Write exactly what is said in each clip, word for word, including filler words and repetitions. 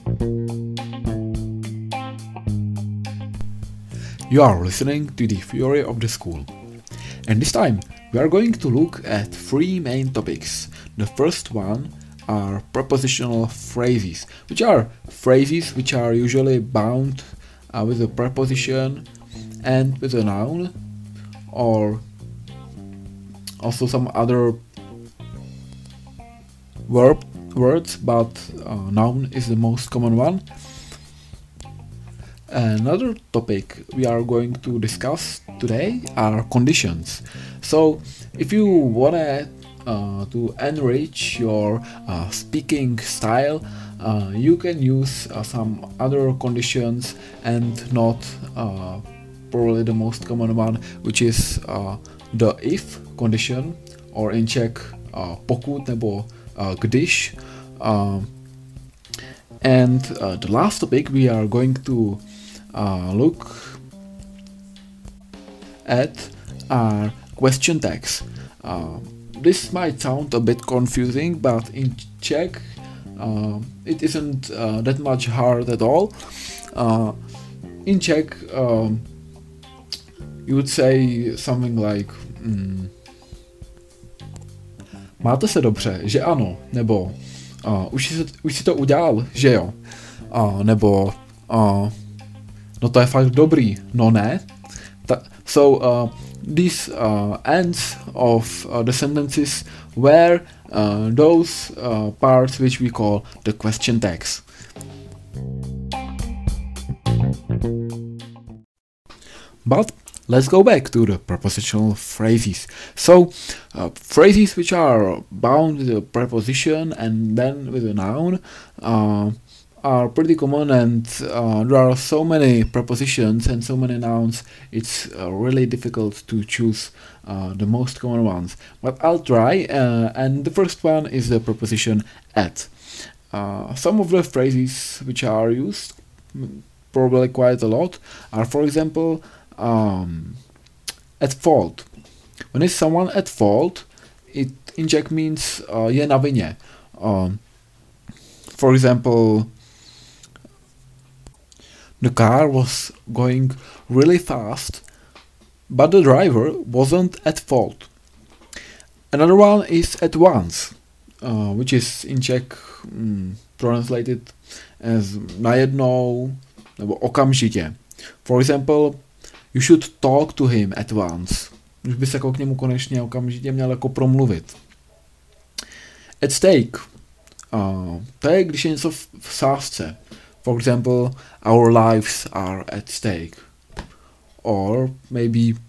You are listening to the Theory of the School, and this time we are going to look at three main topics. The first one are prepositional phrases, which are phrases which are usually bound uh, with a preposition and with a noun, or also some other verb words, but uh, noun is the most common one. Another topic we are going to discuss today are conditions. So if you wanna uh, to enrich your uh, speaking style, uh, you can use uh, some other conditions and not uh, probably the most common one, which is uh, the if condition, or in Czech uh, pokud nebo uh, když. Um, and uh, the last topic we are going to Uh, look at our question tags. Uh, this might sound a bit confusing, but in Czech uh, it isn't uh, that much hard at all. Uh, in Czech um, you would say something like mm, máte se dobře, že ano, nebo uh, už, si, už si to udělal, že jo, uh, nebo uh, no to je fakt dobrý, no ne. Ta- so uh, these uh, ends of uh, the sentences were uh, those uh, parts which we call the question tags. But let's go back to the prepositional phrases. So uh, phrases which are bound with a preposition and then with a noun uh, are pretty common, and uh, there are so many prepositions and so many nouns, it's uh, really difficult to choose uh, the most common ones. But I'll try, uh, and the first one is the preposition at. Uh, some of the phrases which are used, probably quite a lot, are, for example, um, at fault. When is someone at fault, it in Czech means uh, je na vině. Um, for example, the car was going really fast, but the driver wasn't at fault. Another one is at once, uh, which is in Czech mm, translated as najednou nebo okamžitě. For example, you should talk to him at once. Už by se jako k němu konečně okamžitě měl jako promluvit. At stake. Uh, to je, když je něco v, v sázce. For example, our lives are at stake. Or maybe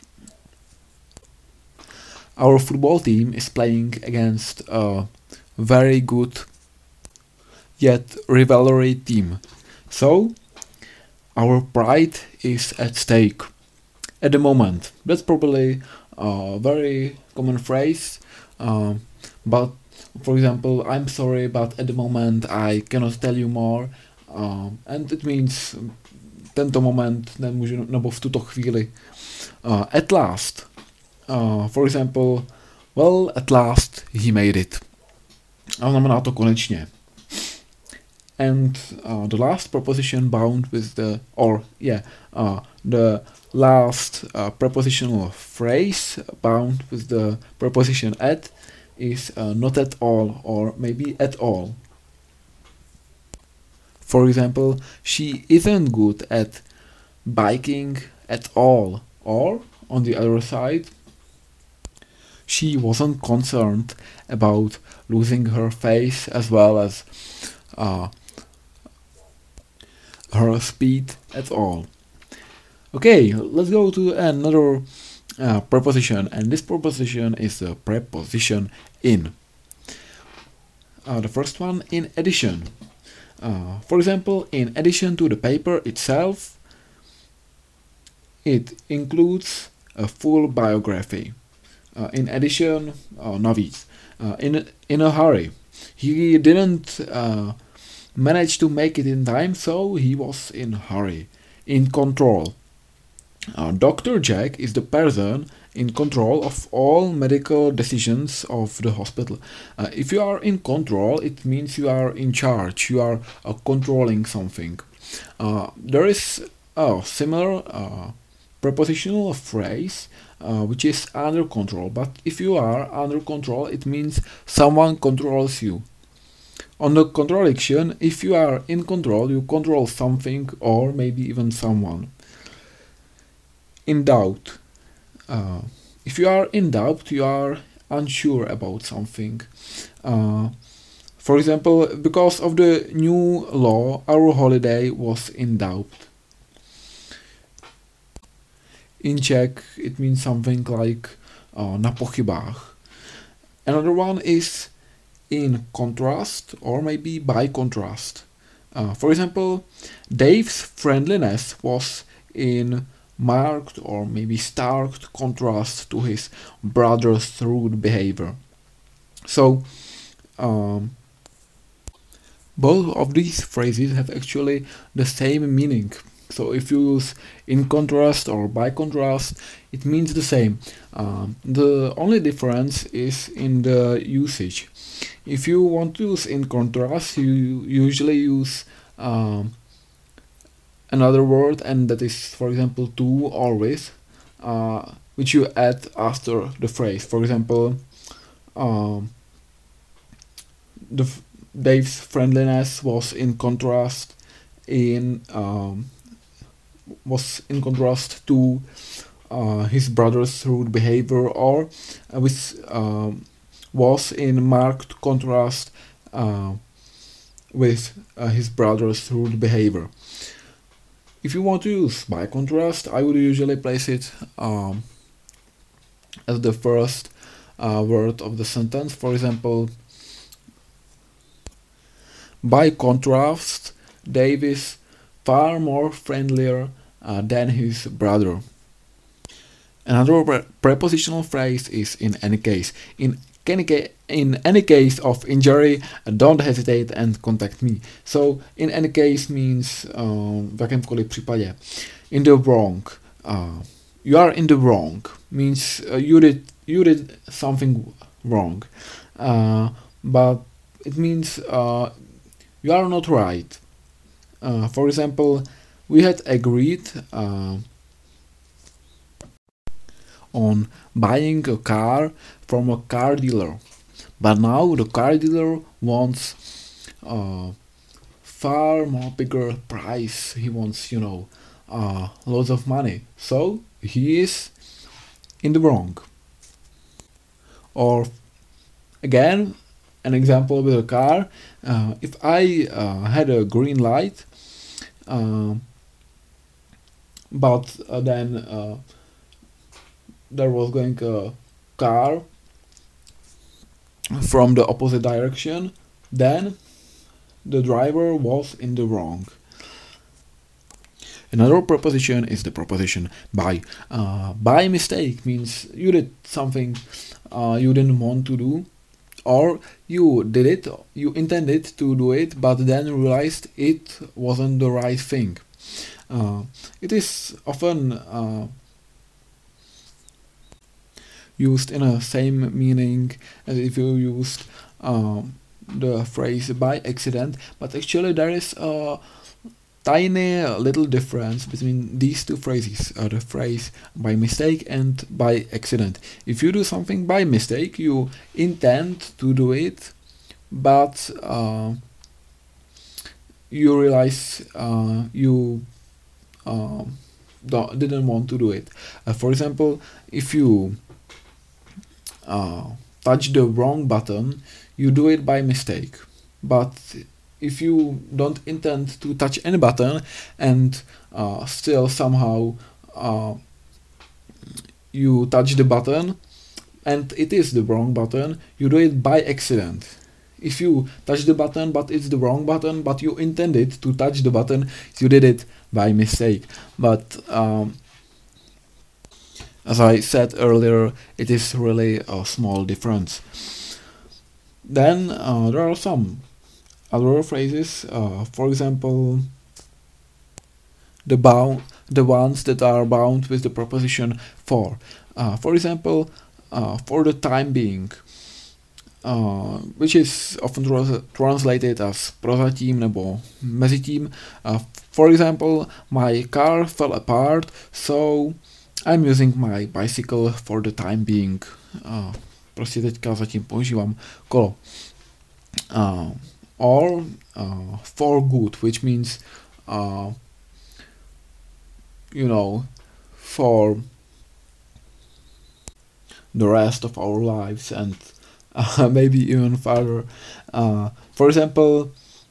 our football team is playing against a very good yet rivalry team. So, our pride is at stake at the moment. That's probably a very common phrase. Uh, but, for example, I'm sorry, but at the moment I cannot tell you more. Uh, and it means tento moment nemůžu, nebo v tuto chvíli. Uh, at last. Uh, for example, well, at last he made it. A znamená to konečně. And uh, the last preposition bound with the, or yeah, uh, the last uh, prepositional phrase bound with the preposition at is uh, not at all, or maybe at all. For example, she isn't good at biking at all. Or, on the other side, she wasn't concerned about losing her face as well as uh, her speed at all. Okay, let's go to another uh, preposition, and this preposition is the preposition in. Uh, the first one, in addition. Uh, for example, in addition to the paper itself, it includes a full biography. Uh, in addition, uh, navíc, uh, in, in a hurry. He didn't uh, manage to make it in time, so he was in a hurry. In control. Uh, Doctor Jack is the person in control of all medical decisions of the hospital. Uh, if you are in control, it means you are in charge, you are uh, controlling something. Uh, there is a similar uh, prepositional phrase uh, which is under control, but if you are under control, it means someone controls you. On the contradiction, if you are in control, you control something or maybe even someone. In doubt. Uh, if you are in doubt, you are unsure about something. Uh, for example, because of the new law, our holiday was in doubt. In Czech, it means something like uh, na pochybách. Another one is in contrast or maybe by contrast. Uh, for example, Dave's friendliness was in marked or maybe stark contrast to his brother's rude behavior. So, um, both of these phrases have actually the same meaning. So if you use in contrast or by contrast, it means the same. Um, the only difference is in the usage. If you want to use in contrast, you usually use um, another word, and that is, for example, to or with, uh, which you add after the phrase. For example, um, the f- Dave's friendliness was in contrast in um, was in contrast to uh, his brother's rude behavior, or uh, which um, was in marked contrast uh, with uh, his brother's rude behavior. If you want to use by contrast, I would usually place it um, as the first uh, word of the sentence. For example, by contrast, Dave is far more friendlier uh, than his brother. Another pre- prepositional phrase is in any case. In any, ca- in any case of injury, uh, don't hesitate and contact me. So in any case means um, v jakémkoliv případě. In the wrong. Uh, you are in the wrong means uh, you did you did something wrong, uh, but it means uh, you are not right. Uh, for example, we had agreed uh, on buying a car from a car dealer, but now the car dealer wants uh, far more bigger price. He wants, you know, uh, lots of money. So he is in the wrong. Or again, an example with a car. Uh, if I uh, had a green light, uh, but uh, then uh, there was going a car from the opposite direction, then the driver was in the wrong. Another preposition is the preposition by. Uh, by mistake means you did something uh, you didn't want to do, or you did it, you intended to do it, but then realized it wasn't the right thing. Uh, it is often uh, used in a same meaning as if you used um, the phrase by accident, but actually there is a tiny little difference between these two phrases, uh, the phrase by mistake and by accident. If you do something by mistake, you intend to do it, but uh, you realize uh, you uh, don't, didn't want to do it. Uh, for example, if you uh, touch the wrong button, you do it by mistake, but if you don't intend to touch any button and uh, still somehow uh, you touch the button and it is the wrong button, you do it by accident. If you touch the button but it's the wrong button, but you intended to touch the button, you did it by mistake. But um, as I said earlier, it is really a small difference. Then uh, there are some other phrases, uh, for example, the bound the ones that are bound with the preposition for. Uh, for example, uh, for the time being, uh, which is often tra- translated as prozatím nebo mezitím. Uh, for example, my car fell apart, so I'm using my bicycle for the time being. Uh, prostě teďka zatím používám kolo. Uh, or uh, for good, which means uh, you know, for the rest of our lives and uh, maybe even further. Uh, for example,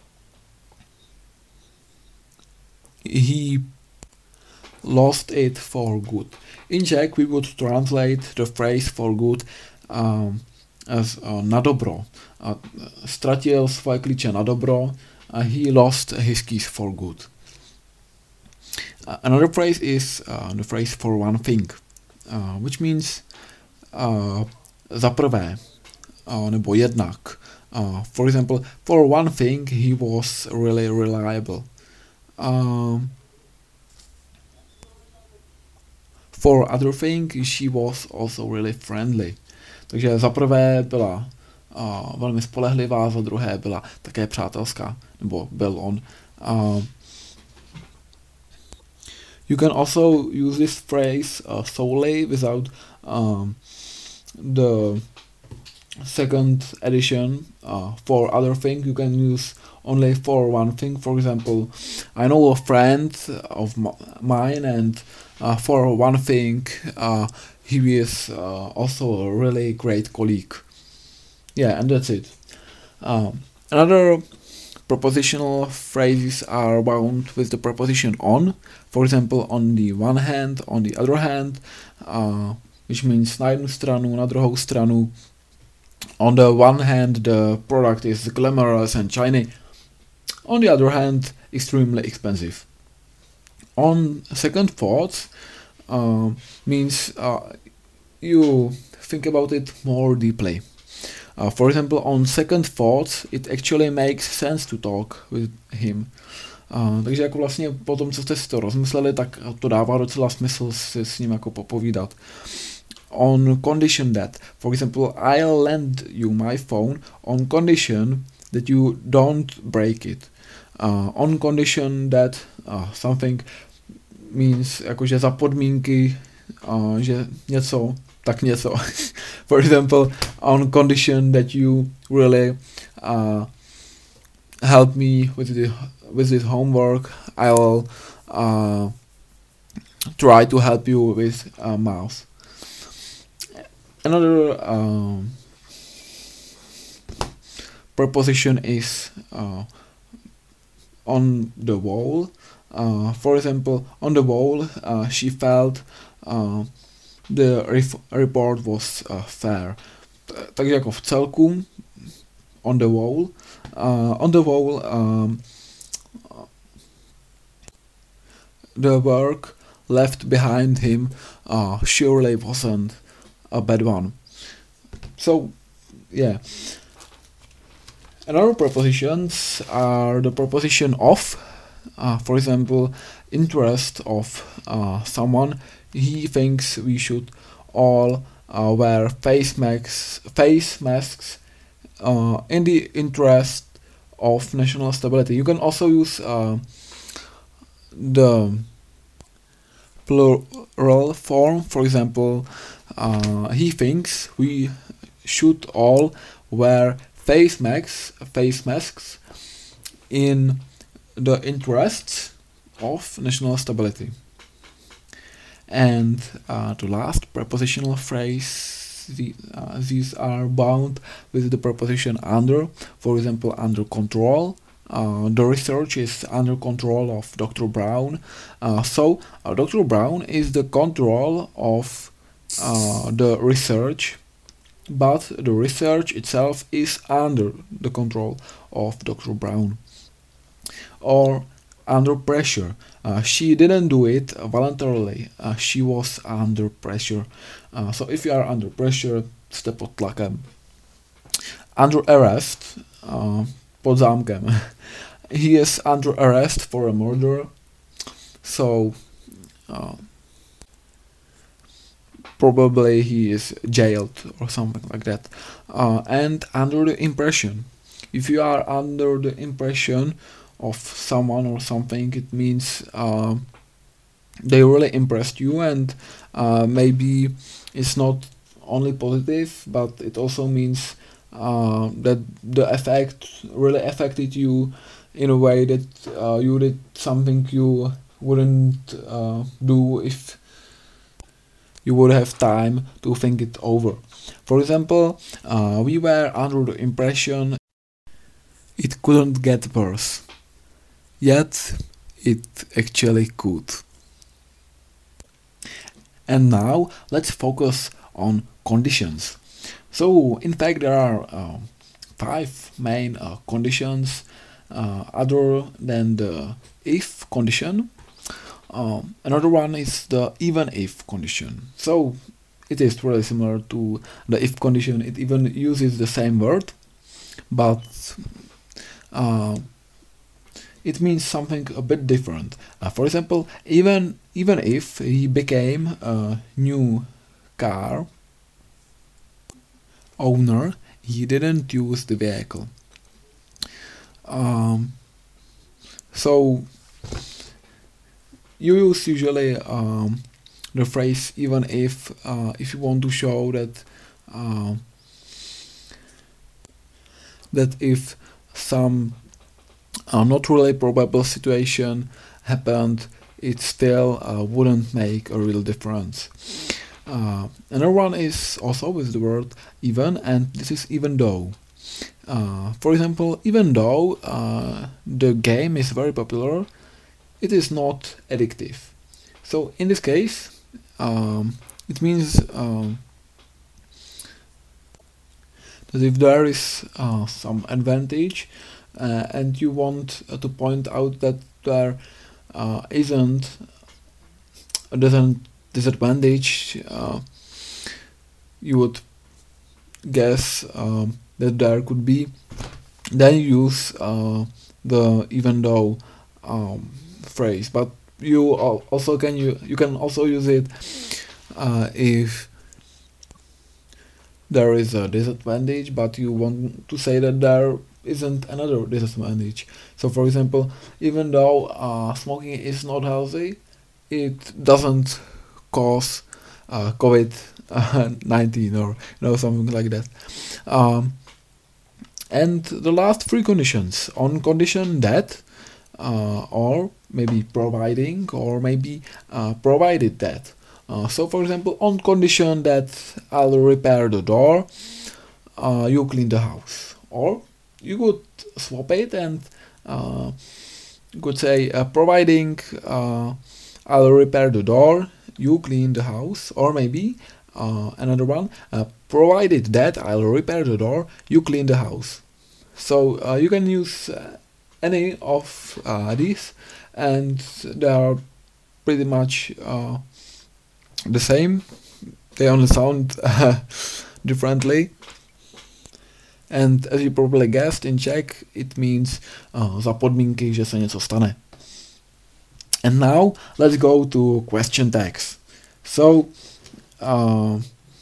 he lost it for good. In Czech, we would translate the phrase for good um, as uh, na dobro. Uh, ztratil svoje klíče na dobro. Uh, he lost his keys for good. Uh, another phrase is uh, the phrase for one thing, uh, which means uh, za prvé, uh, nebo jednak. Uh, for example, for one thing, he was really reliable. Um, for other thing, she was also really friendly. Takže za prvé byla uh, velmi spolehlivá, za druhé byla také přátelská, nebo byl on. Uh, you can also use this phrase uh, solely without um, the second addition. Uh, for other thing, you can use only for one thing. For example, I know a friend of m- mine, and uh, for one thing, uh, he is uh, also a really great colleague. Yeah, and that's it. Um, another prepositional phrases are bound with the preposition on. For example, on the one hand, on the other hand, uh, which means na jednu stranu, na druhou stranu. On the one hand, the product is glamorous and shiny. On the other hand, extremely expensive. On second thoughts uh, means uh, you think about it more deeply. Uh, for example, on second thoughts, it actually makes sense to talk with him. Uh, takže jako vlastně po tom, co jste si to rozmysleli, tak to dává docela smysl si s ním jako popovídat. On condition that, for example, I'll lend you my phone on condition that you don't break it. Uh, on condition that uh, something means jakože za podmínky, uh, že něco, tak něco. For example, on condition that you really uh, help me with the with this homework, I'll uh, try to help you with uh, mouse. Another um, preposition is uh, on the wall. Uh, for example, on the wall, uh, she felt uh, the ref- report was uh, fair. Takže jako v celku, on the wall. Uh, on the wall, um, the work left behind him uh, surely wasn't a bad one. So, yeah. Another prepositions are the preposition of. Uh, for example, interest of uh, someone. He thinks we should all uh, wear face masks, face masks uh, in the interest of national stability. You can also use uh, the plural form. For example, uh, he thinks we should all wear face masks, face masks in the interests of national stability. And uh, the last prepositional phrase, the, uh, these are bound with the preposition under. For example, under control. Uh, the research is under control of Doctor Brown. Uh, so uh, Doctor Brown is the control of uh, the research, but the research itself is under the control of Doctor Brown. Or under pressure. Uh, she didn't do it voluntarily. Uh, she was under pressure. Uh, so if you are under pressure, jste pod tlakem. Under arrest, uh, pod zámkem. He is under arrest for a murder. So uh, probably he is jailed or something like that. Uh, and under the impression, if you are under the impression of someone or something, it means uh, they really impressed you, and uh, maybe it's not only positive, but it also means uh, that the effect really affected you in a way that uh, you did something you wouldn't uh, do if you would have time to think it over. For example, uh, we were under the impression it couldn't get worse, yet it actually could. And now let's focus on conditions. So, in fact, there are uh, five main uh, conditions uh, other than the if condition. Um, another one is the even if condition. So, it is really similar to the if condition. It even uses the same word, but uh, it means something a bit different. Uh, for example, even even if he became a new car owner, he didn't use the vehicle. Um, so you use usually um, the phrase even if uh, if you want to show that uh, that if some uh, not really probable situation happened, it still uh, wouldn't make a real difference. Uh, another one is also with the word even, and this is even though. Uh, for example, even though uh, the game is very popular, it is not addictive. So in this case, um, it means um, that if there is uh, some advantage uh, and you want uh, to point out that there uh, isn't a doesn't disadvantage, uh, you would guess um, that there could be, then you use uh, the even though um, phrase. But you al- also can you you can also use it uh, if there is a disadvantage, but you want to say that there isn't another disadvantage. So, for example, even though uh, smoking is not healthy, it doesn't cause uh, COVID nineteen or you know something like that. Um, and the last three conditions: on condition that, uh, or maybe providing, or maybe uh, provided that. Uh, so, for example, on condition that I'll repair the door, uh, you clean the house, or you could swap it and uh, you could say uh, providing uh, I'll repair the door, you clean the house, or maybe uh, another one, uh, provided that I'll repair the door, you clean the house. So uh, you can use uh, any of uh, these, and they are pretty much uh, the same. They only sound uh, differently. And as you probably guessed, in Czech it means uh, za podmínky, že se něco stane. And now let's go to question tags. So uh,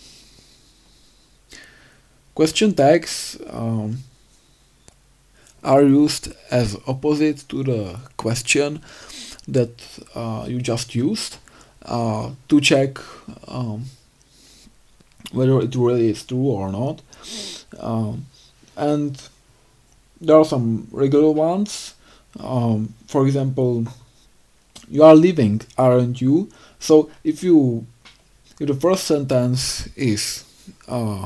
question tags um, are used as opposite to the question that uh, you just used uh, to check um, whether it really is true or not. Um, and there are some regular ones. Um, for example, you are leaving, aren't you? So if you if the first sentence is uh,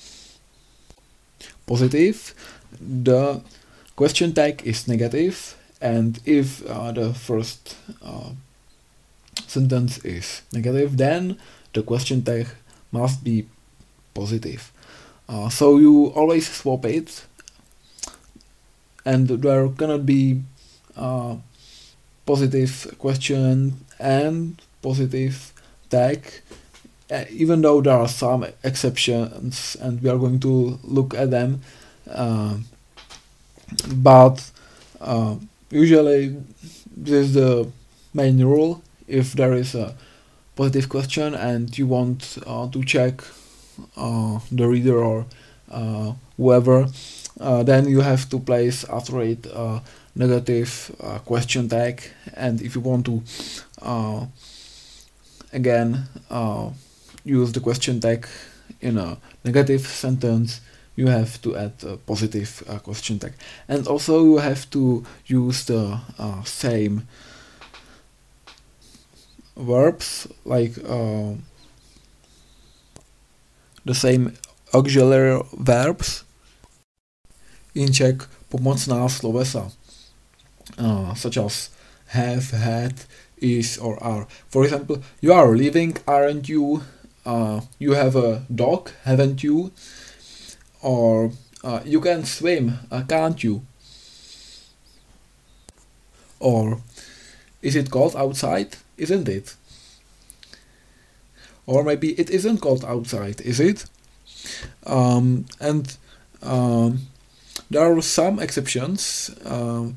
positive, the question tag is negative, and if uh, the first uh, sentence is negative, then the question tag must be positive. Uh, so you always swap it, and there cannot be uh, positive question and positive tag, uh, even though there are some exceptions, and we are going to look at them. Uh, but uh, usually this is the main rule. if there is a positive question and you want uh, to check uh, the reader or uh, whoever, uh, then you have to place after it a negative uh, question tag. And if you want to uh, again uh, use the question tag in a negative sentence, you have to add a positive uh, question tag. And also you have to use the uh, same verbs, like uh, the same auxiliary verbs in Czech pomocná slovesa, uh, such as have, had, is, or are. For example, you are leaving, aren't you? Uh, you have a dog, haven't you? Or uh, you can swim, uh, can't you? Or is it cold outside? Isn't it? Or maybe it isn't cold outside, is it? Um, and um, there are some exceptions. Um,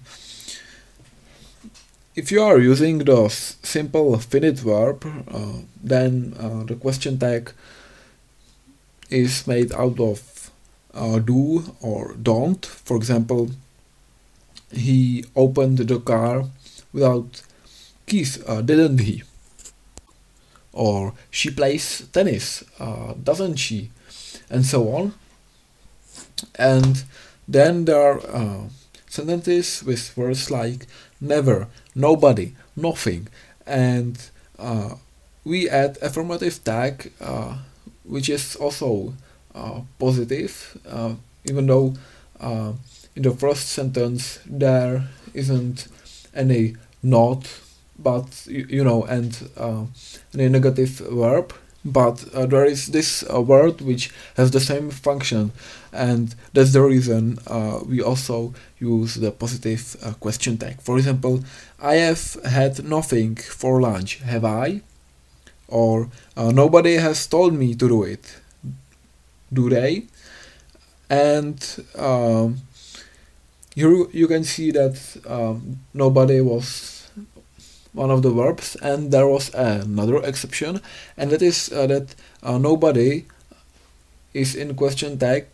if you are using the s- simple finite verb, uh, then uh, the question tag is made out of uh, do or don't. For example, he opened the car without keys, uh, didn't he? Or she plays tennis, uh, doesn't she? And so on. And then there are uh, sentences with words like never, nobody, nothing, and uh, we add affirmative tag, uh, which is also uh, positive, uh, even though uh, in the first sentence there isn't any not, but you, you know, and uh, any negative verb, but uh, there is this uh, word which has the same function, and that's the reason uh, we also use the positive uh, question tag. For example, I have had nothing for lunch, have I? Or uh, nobody has told me to do it, do they? And um, here you can see that um, nobody was one of the verbs, and there was another exception, and that is uh, that uh, nobody is in question tag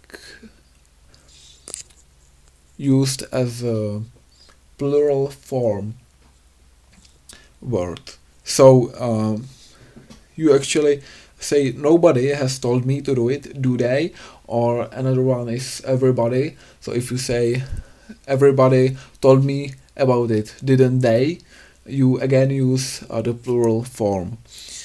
used as a plural form word. So um, you actually say nobody has told me to do it, do they? Or another one is everybody. So if you say everybody told me about it, didn't they? You again use uh, the plural form.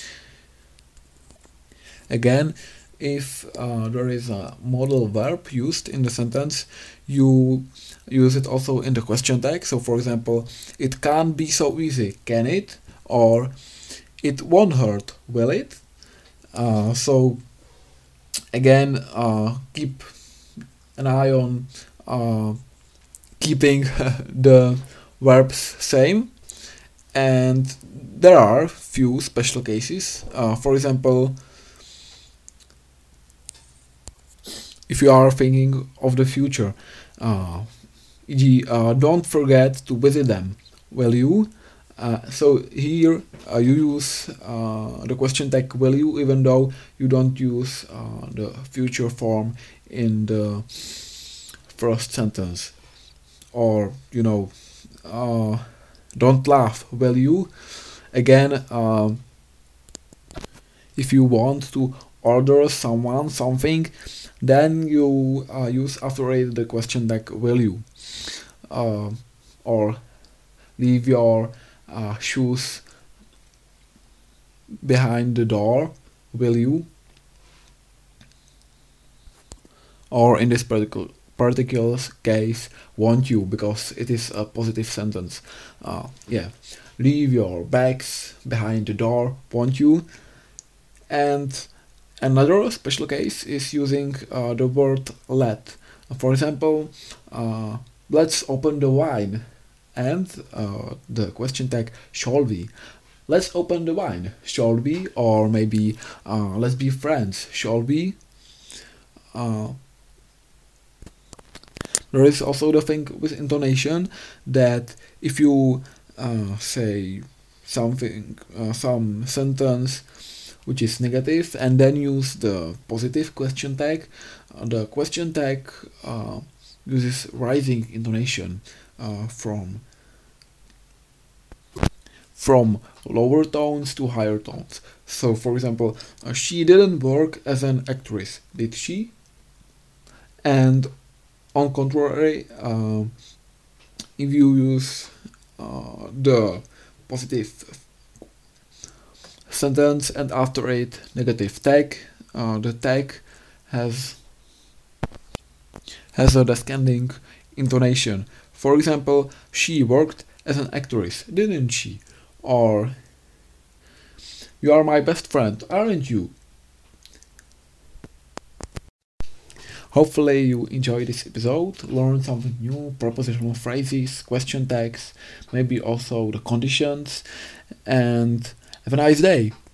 Again, if uh, there is a modal verb used in the sentence, you use it also in the question tag. So for example, it can't be so easy, can it? Or it won't hurt, will it? Uh, so again, uh, keep an eye on uh, keeping the verbs same. And there are few special cases. Uh, for example, if you are thinking of the future, uh, for example, uh, don't forget to visit them, will you? Uh, so here uh, you use uh, the question tag will you, even though you don't use uh, the future form in the first sentence. Or, you know, uh, don't laugh, will you? Again, uh, if you want to order someone something, then you uh, use after it the question tag will you? Uh, or leave your uh, shoes behind the door, will you? Or in this particular particular case, won't you, because it is a positive sentence. Uh, yeah, leave your bags behind the door, won't you? And another special case is using uh, the word let. For example, uh, let's open the wine, and uh, the question tag shall we. Let's open the wine, shall we? Or maybe uh, let's be friends, shall we? Uh, There is also the thing with intonation that if you uh, say something, uh, some sentence which is negative, and then use the positive question tag. Uh, the question tag uh, uses rising intonation uh, from from lower tones to higher tones. So, for example, uh, she didn't work as an actress, did she? And on contrary, uh, if you use uh, the positive sentence and after it negative tag, uh, the tag has has a descending intonation. For example, she worked as an actress, didn't she? Or you are my best friend, aren't you? Hopefully you enjoyed this episode, learned something new, prepositional phrases, question tags, maybe also the conditions, and have a nice day.